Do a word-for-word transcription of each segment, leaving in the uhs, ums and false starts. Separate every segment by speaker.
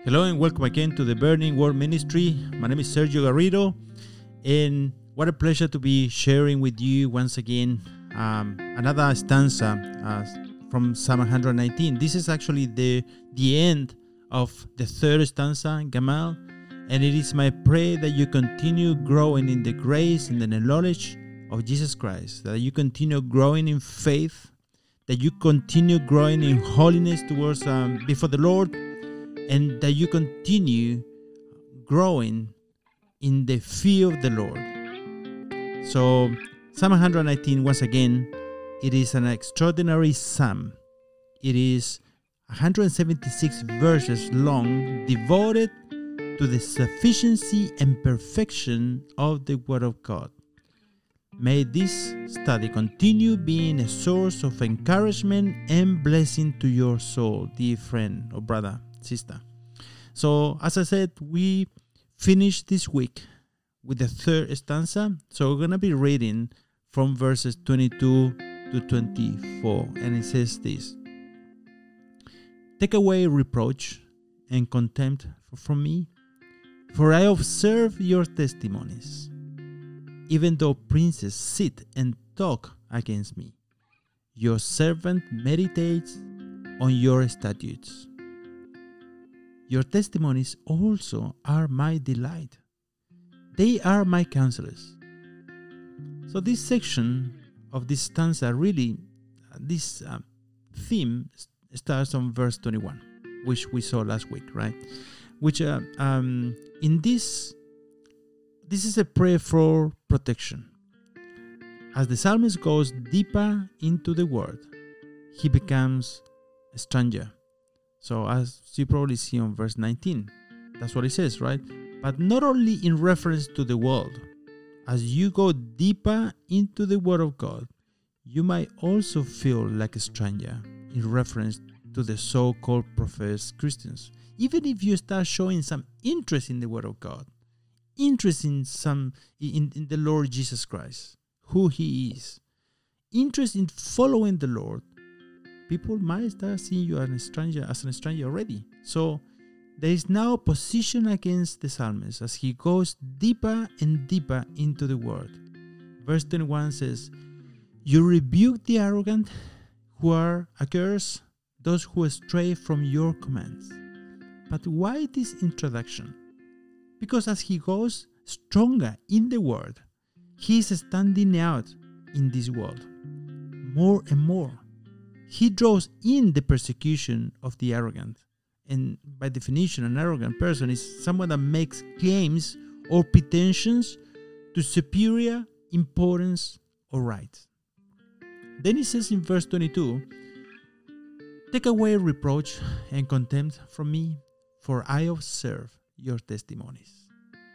Speaker 1: Hello and welcome again to the Burning Word Ministry. My name is Sergio Garrido, and what a pleasure to be sharing with you once again um, another stanza uh, from Psalm one nineteen. This is actually the the end of the third stanza, Gamal, and it is my prayer that you continue growing in the grace and in the knowledge of Jesus Christ, that you continue growing in faith, that you continue growing in holiness towards um, before the Lord, and that you continue growing in the fear of the Lord. So, Psalm one nineteen, once again, it is an extraordinary psalm. It is one hundred seventy-six verses long, devoted to the sufficiency and perfection of the Word of God. May this study continue being a source of encouragement and blessing to your soul, dear friend or brother, sister. So, as I said, we finished this week with the third stanza. So we're going to be reading from verses twenty-two to twenty-four. And it says this: Take away reproach and contempt from me, for I observe your testimonies. Even though princes sit and talk against me, your servant meditates on your statutes. Your testimonies also are my delight. They are my counselors. So this section of this stanza, really, this uh, theme starts on verse twenty-one, which we saw last week, right? Which uh, um, in this, this is a prayer for protection. As the psalmist goes deeper into the word, he becomes a stranger. So as you probably see on verse nineteen, that's what it says, right? But not only in reference to the world. As you go deeper into the Word of God, you might also feel like a stranger in reference to the so-called professed Christians. Even if you start showing some interest in the Word of God, interest in some in, in the Lord Jesus Christ, who He is, interest in following the Lord, people might start seeing you as a stranger, as a stranger already. So there is now opposition against the psalmist as he goes deeper and deeper into the word. Verse twenty-one says, You rebuke the arrogant who are accursed, those who stray from your commands. But why this introduction? Because as he goes stronger in the word, he is standing out in this world more and more. He draws in the persecution of the arrogant. And by definition, an arrogant person is someone that makes claims or pretensions to superior importance or rights. Then he says in verse twenty-two, Take away reproach and contempt from me, for I observe your testimonies.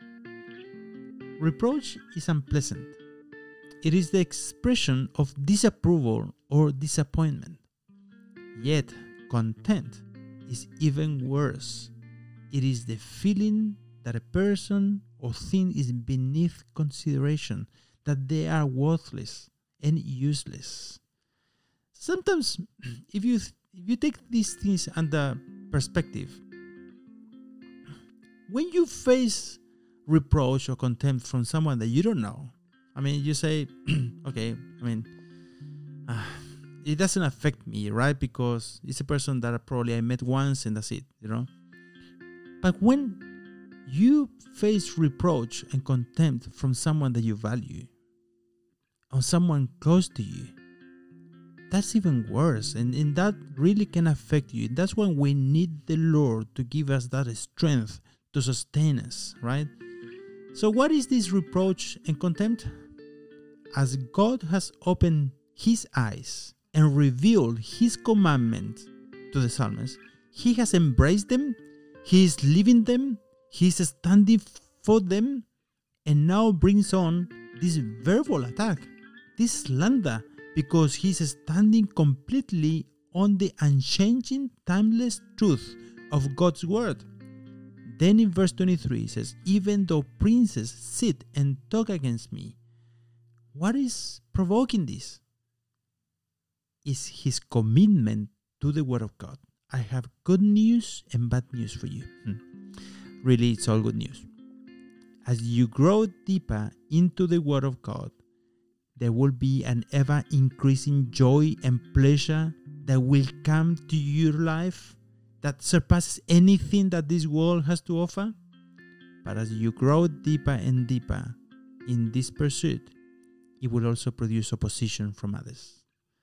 Speaker 1: Reproach is unpleasant. It is the expression of disapproval or disappointment. Yet, contempt is even worse. It is the feeling that a person or thing is beneath consideration, that they are worthless and useless. Sometimes, if you if you take these things under perspective, when you face reproach or contempt from someone that you don't know, I mean, you say, okay, I mean, uh, it doesn't affect me, right? Because it's a person that I probably I met once and that's it, you know. But when you face reproach and contempt from someone that you value, or someone close to you, that's even worse. And, and that really can affect you. That's when we need the Lord to give us that strength to sustain us, right? So what is this reproach and contempt? As God has opened His eyes and revealed His commandment to the psalmist, He has embraced them, He is living them, He is standing for them, and now brings on this verbal attack, this slander, because He is standing completely on the unchanging, timeless truth of God's word. Then in verse twenty-three it says, Even though princes sit and talk against me. What is provoking this? Is his commitment to the word of God. I have good news and bad news for you. Hmm. Really, it's all good news. As you grow deeper into the Word of God, there will be an ever-increasing joy and pleasure that will come to your life that surpasses anything that this world has to offer. But as you grow deeper and deeper in this pursuit, it will also produce opposition from others.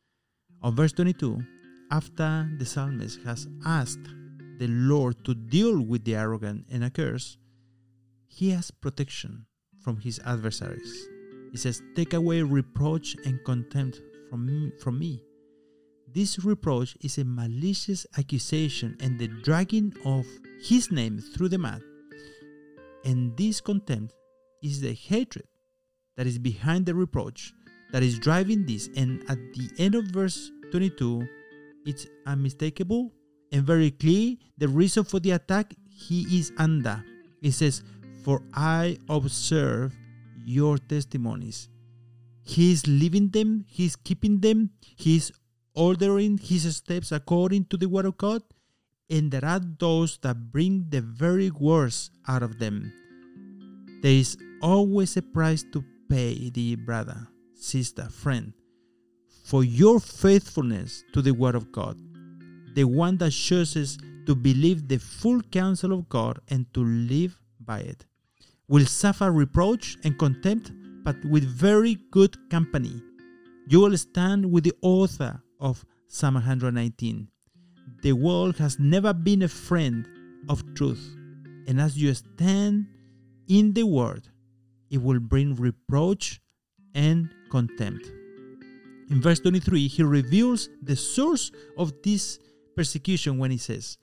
Speaker 1: On verse twenty-two, after the psalmist has asked the Lord to deal with the arrogant and accursed, he has protection from his adversaries. He says, take away reproach and contempt from me, from me. This reproach is a malicious accusation and the dragging of his name through the mud. And this contempt is the hatred that is behind the reproach that is driving this. And at the end of verse twenty-two, it's unmistakable and very clear the reason for the attack he is under. It says, for I observe your testimonies. He is living them, he is keeping them, he is ordering his steps according to the word of God, and there are those that bring the very worst out of them. There is always a price to pay, dear brother, sister, friend, for your faithfulness to the word of God. The one that chooses to believe the full counsel of God and to live by it will suffer reproach and contempt, but with very good company. You will stand with the author of Psalm one nineteen. The world has never been a friend of truth, and as you stand in the word, it will bring reproach and contempt. In verse twenty-three, he reveals the source of this persecution when he says,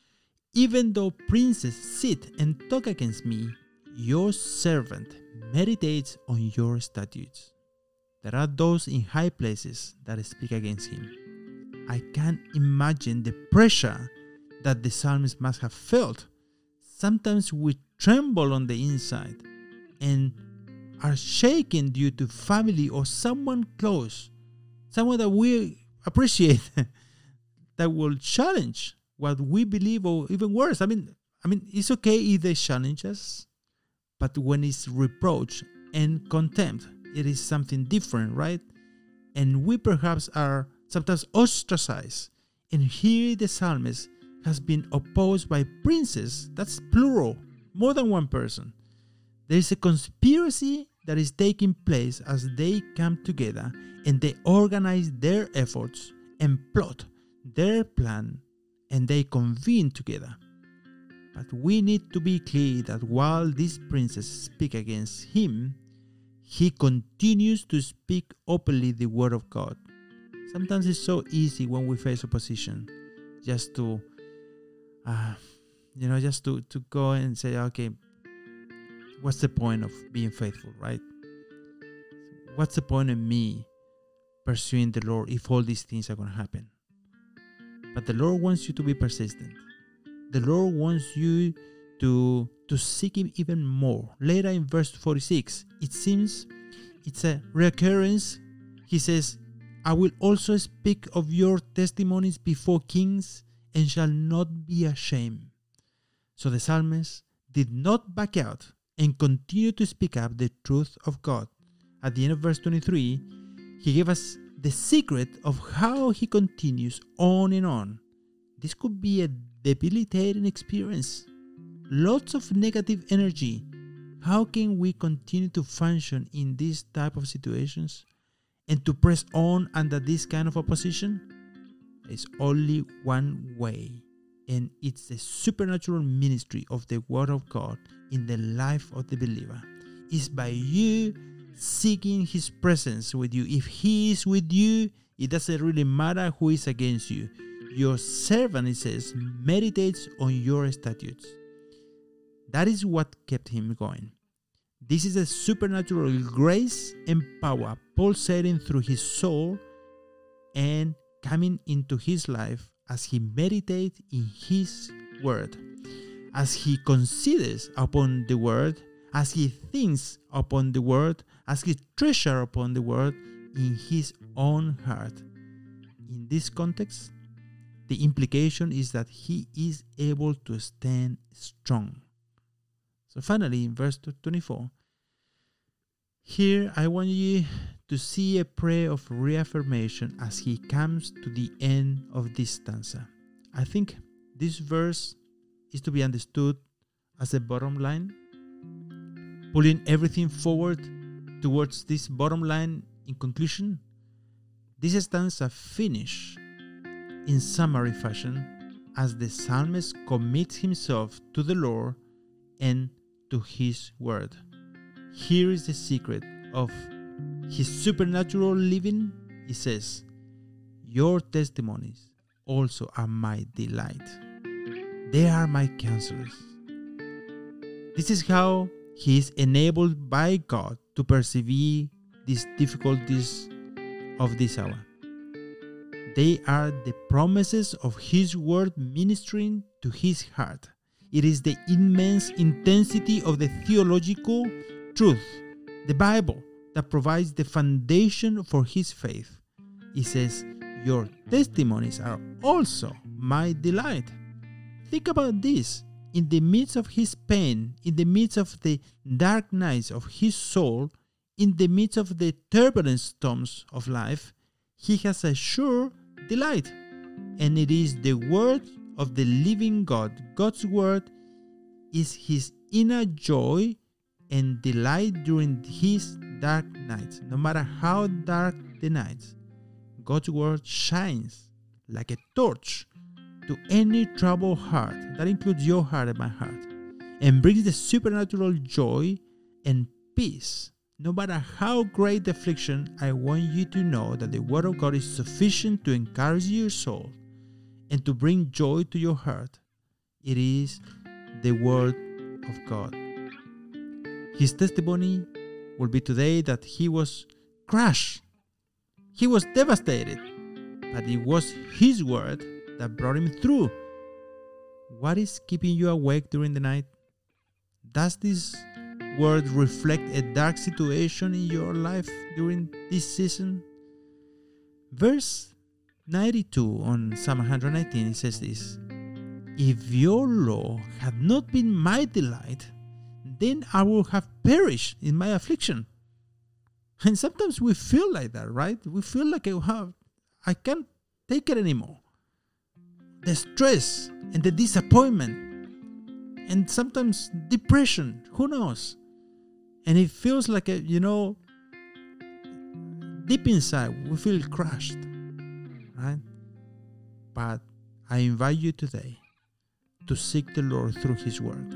Speaker 1: even though princes sit and talk against me, your servant meditates on your statutes. There are those in high places that speak against him. I can't imagine the pressure that the psalmist must have felt. Sometimes we tremble on the inside and are shaken due to family or someone close, someone that we appreciate, that will challenge what we believe, or even worse. I mean, I mean, it's okay if they challenge us, but when it's reproach and contempt, it is something different, right? And we perhaps are sometimes ostracized. And here the psalmist has been opposed by princes. That's plural, more than one person. There is a conspiracy that is taking place as they come together and they organize their efforts and plot their plan and they convene together. But we need to be clear that while these princes speak against him, he continues to speak openly the word of God. Sometimes it's so easy when we face opposition just to, uh, you know, just to, to go and say, okay, what's the point of being faithful, right? What's the point of me pursuing the Lord if all these things are going to happen? But the Lord wants you to be persistent. The Lord wants you to, to seek him even more. Later in verse forty-six, it seems it's a recurrence. He says, I will also speak of your testimonies before kings and shall not be ashamed. So the psalmist did not back out and continued to speak up the truth of God. At the end of verse twenty-three, he gave us the secret of how he continues on and on. This could be a debilitating experience. Lots of negative energy. How can we continue to function in these type of situations and to press on under this kind of opposition? There's only one way, and it's the supernatural ministry of the Word of God in the life of the believer. It's by you seeking his presence with you. If he is with you, it doesn't really matter who is against you. Your servant, it says, meditates on your statutes. That is what kept him going. This is a supernatural grace and power pulsating through his soul and coming into his life as he meditates in his word, as he considers upon the word, as he thinks upon the word, as he treasures upon the word in his own heart. In this context, the implication is that he is able to stand strong. So finally, in verse twenty-four, here I want you to see a prayer of reaffirmation as he comes to the end of this stanza. I think this verse is to be understood as a bottom line, pulling everything forward towards this bottom line. In conclusion, this stanza finishes in summary fashion as the psalmist commits himself to the Lord and to his word. Here is the secret of his supernatural living. He says, your testimonies also are my delight. They are my counselors. This is how he is enabled by God to persevere these difficulties of this hour. They are the promises of his word ministering to his heart. It is the immense intensity of the theological truth, the Bible, that provides the foundation for his faith. He says, your testimonies are also my delight. Think about this. In the midst of his pain, in the midst of the dark nights of his soul, in the midst of the turbulent storms of life, he has a sure delight. And it is the word of the living God. God's word is his inner joy and delight during his dark nights. No matter how dark the nights, God's word shines like a torch to any troubled heart. That includes your heart and my heart. And brings the supernatural joy and peace. No matter how great the affliction, I want you to know that the word of God is sufficient to encourage your soul and to bring joy to your heart. It is the word of God. His testimony will be today that he was crushed. He was devastated. But it was his word that brought him through. What is keeping you awake during the night? Does this word reflect a dark situation in your life during this season? Verse ninety-two on Psalm one hundred nineteen, it says this: if your law had not been my delight, then I would have perished in my affliction. And sometimes we feel like that, right? We feel like I can't take it anymore. The stress and the disappointment and sometimes depression, who knows? And it feels like, a, you know, deep inside we feel crushed, right? But I invite you today to seek the Lord through his word.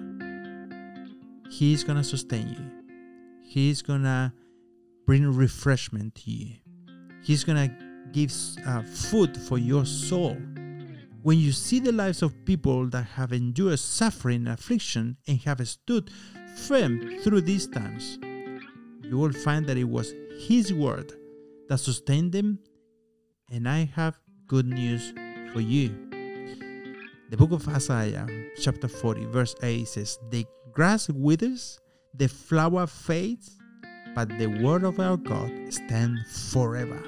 Speaker 1: He is going to sustain you. He is going to bring refreshment to you. He's going to give uh, food for your soul. When you see the lives of people that have endured suffering and affliction and have stood firm through these times, you will find that it was his word that sustained them. And I have good news for you. The book of Isaiah, chapter forty, verse eight says, the grass withers, the flower fades, but the word of our God stands forever.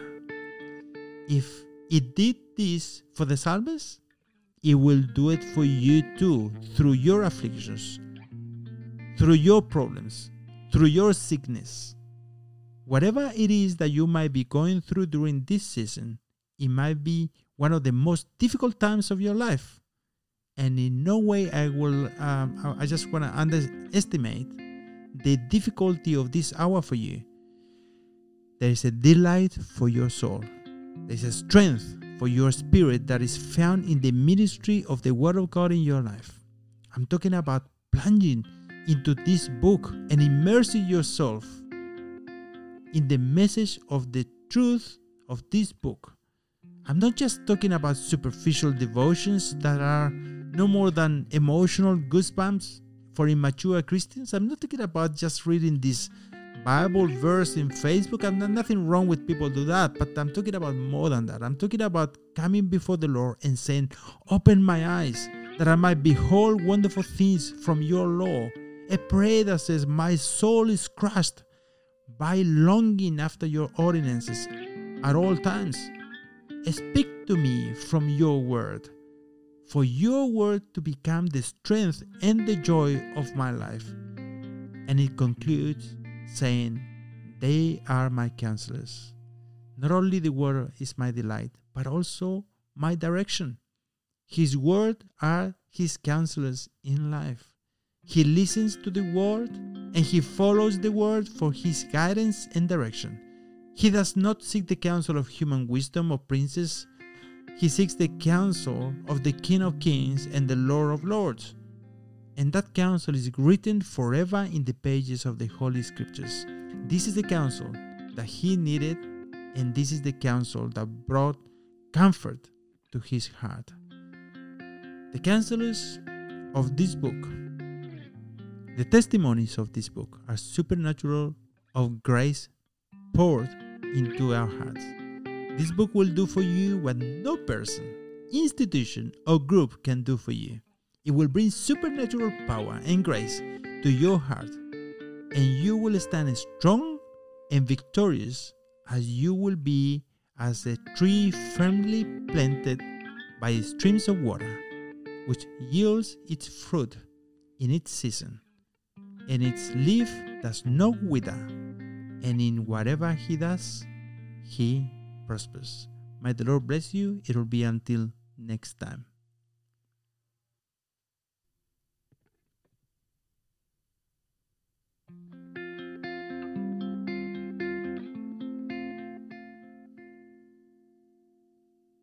Speaker 1: If it did this for the psalmist, it will do it for you too, through your afflictions, through your problems, through your sickness. Whatever it is that you might be going through during this season, it might be one of the most difficult times of your life. And in no way I will, um, I just want to underestimate the difficulty of this hour for you. There is a delight for your soul. There is a strength for your spirit that is found in the ministry of the Word of God in your life. I'm talking about plunging into this book and immersing yourself in the message of the truth of this book. I'm not just talking about superficial devotions that are no more than emotional goosebumps for immature Christians. I'm not talking about just reading this Bible verse in Facebook. I'm not, nothing wrong with people do that, but I'm talking about more than that. I'm talking about coming before the Lord and saying, open my eyes that I might behold wonderful things from your law. A prayer that says, my soul is crushed by longing after your ordinances at all times. Speak to me from your word, for your word to become the strength and the joy of my life. And it concludes saying, they are my counselors. Not only the word is my delight, but also my direction. His word are his counselors in life. He listens to the word and he follows the word for his guidance and direction. He does not seek the counsel of human wisdom or princes. He seeks the counsel of the King of Kings and the Lord of Lords. And that counsel is written forever in the pages of the Holy Scriptures. This is the counsel that he needed, and this is the counsel that brought comfort to his heart. The counselors of this book, the testimonies of this book, are supernatural of grace poured into our hearts. This book will do for you what no person, institution, or group can do for you. It will bring supernatural power and grace to your heart, and you will stand strong and victorious as you will be as a tree firmly planted by streams of water, which yields its fruit in its season, and its leaf does not wither, and in whatever he does, he prospers. May the Lord bless you. It will be until next time.